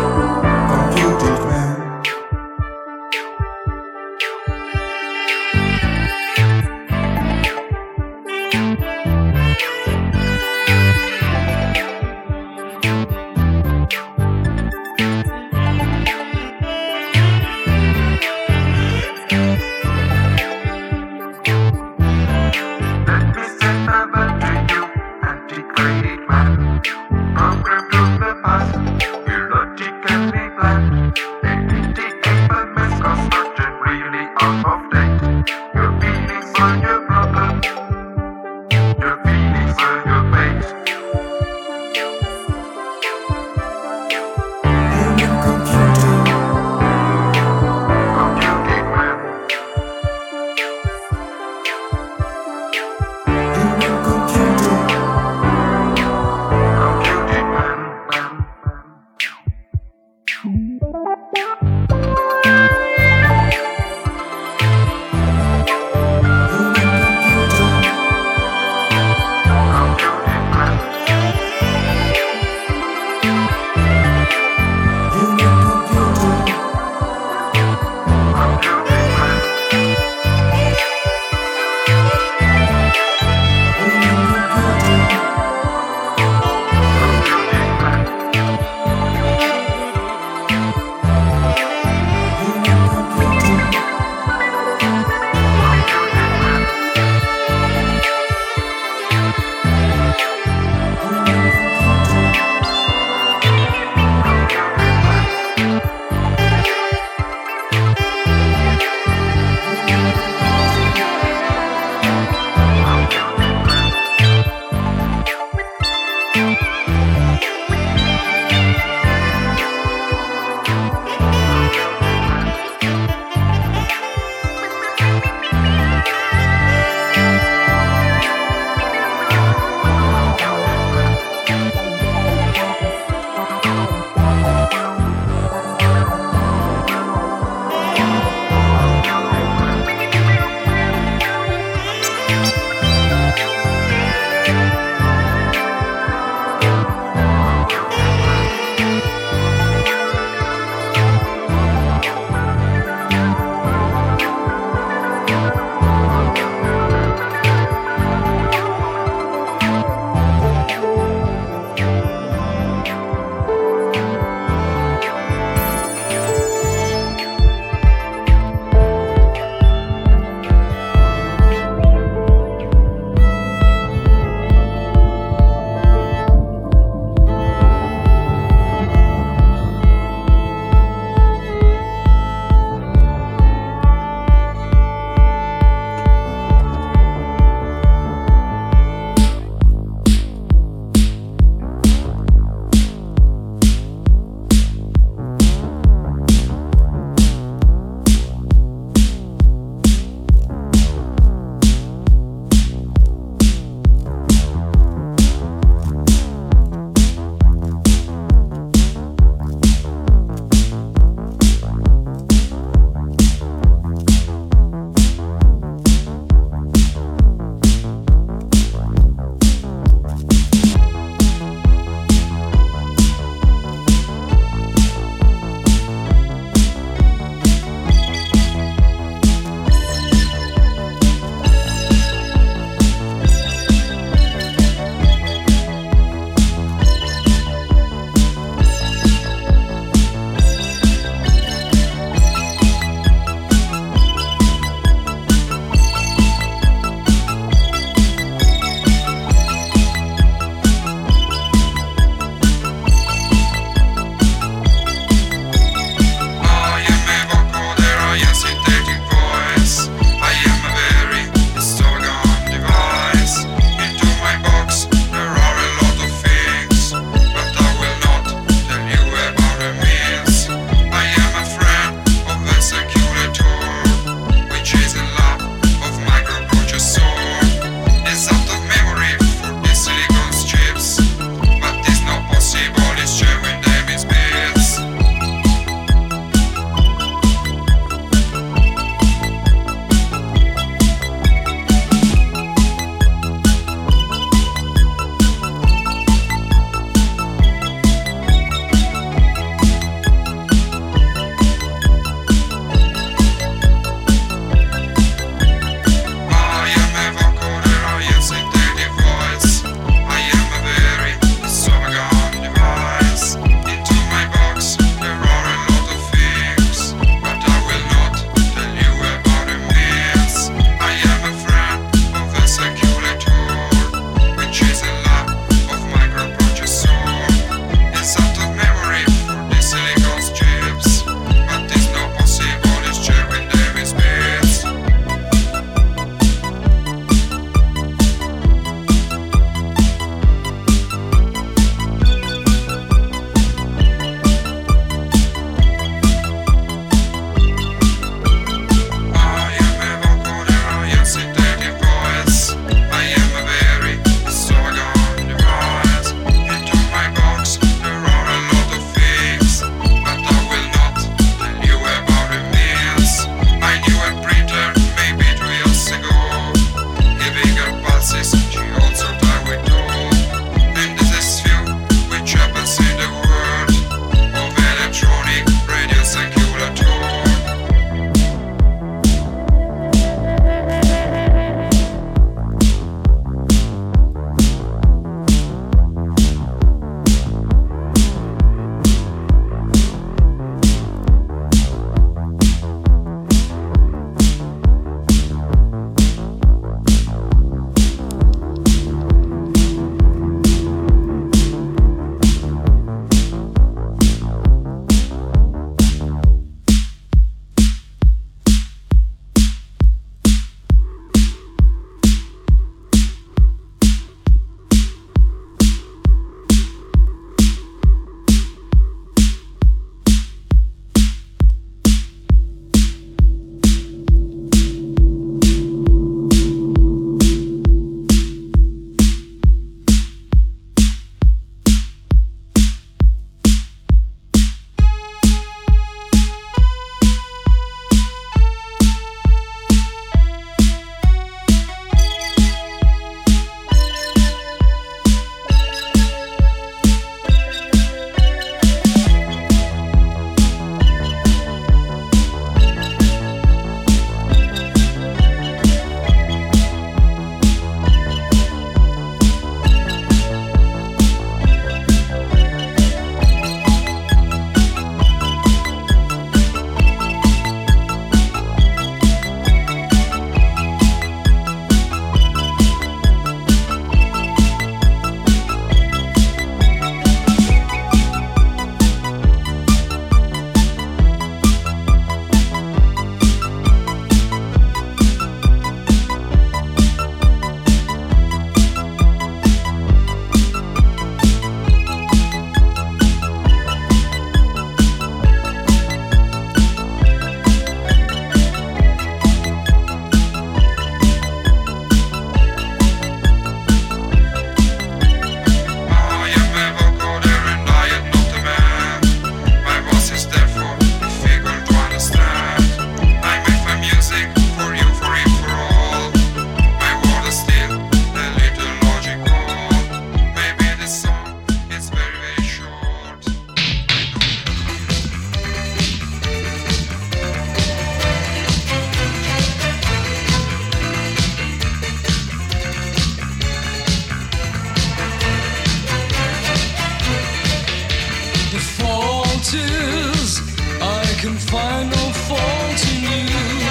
fault is I can find no fault in you.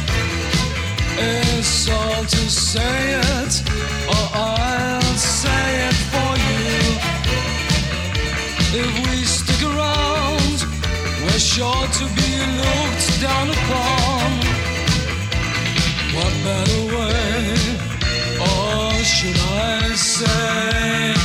It's all to say it, or I'll say it for you. If we stick around, we're sure to be looked down upon. What better way, or should I say,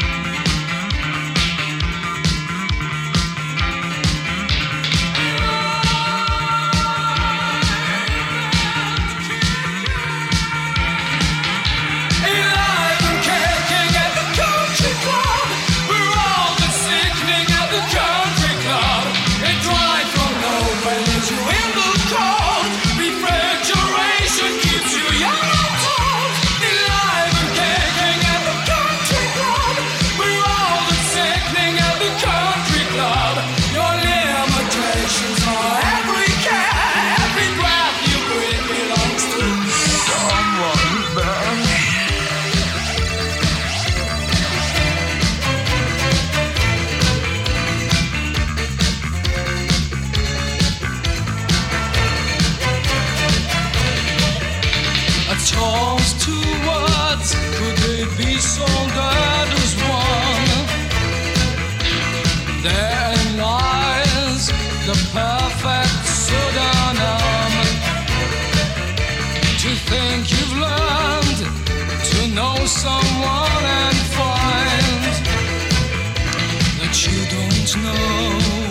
so that is one. Therein lies the perfect pseudonym. To think you've learned to know someone and find that you don't know.